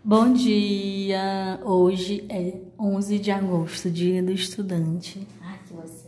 Bom dia! Hoje é 11 de agosto, Dia do Estudante. Ai, que você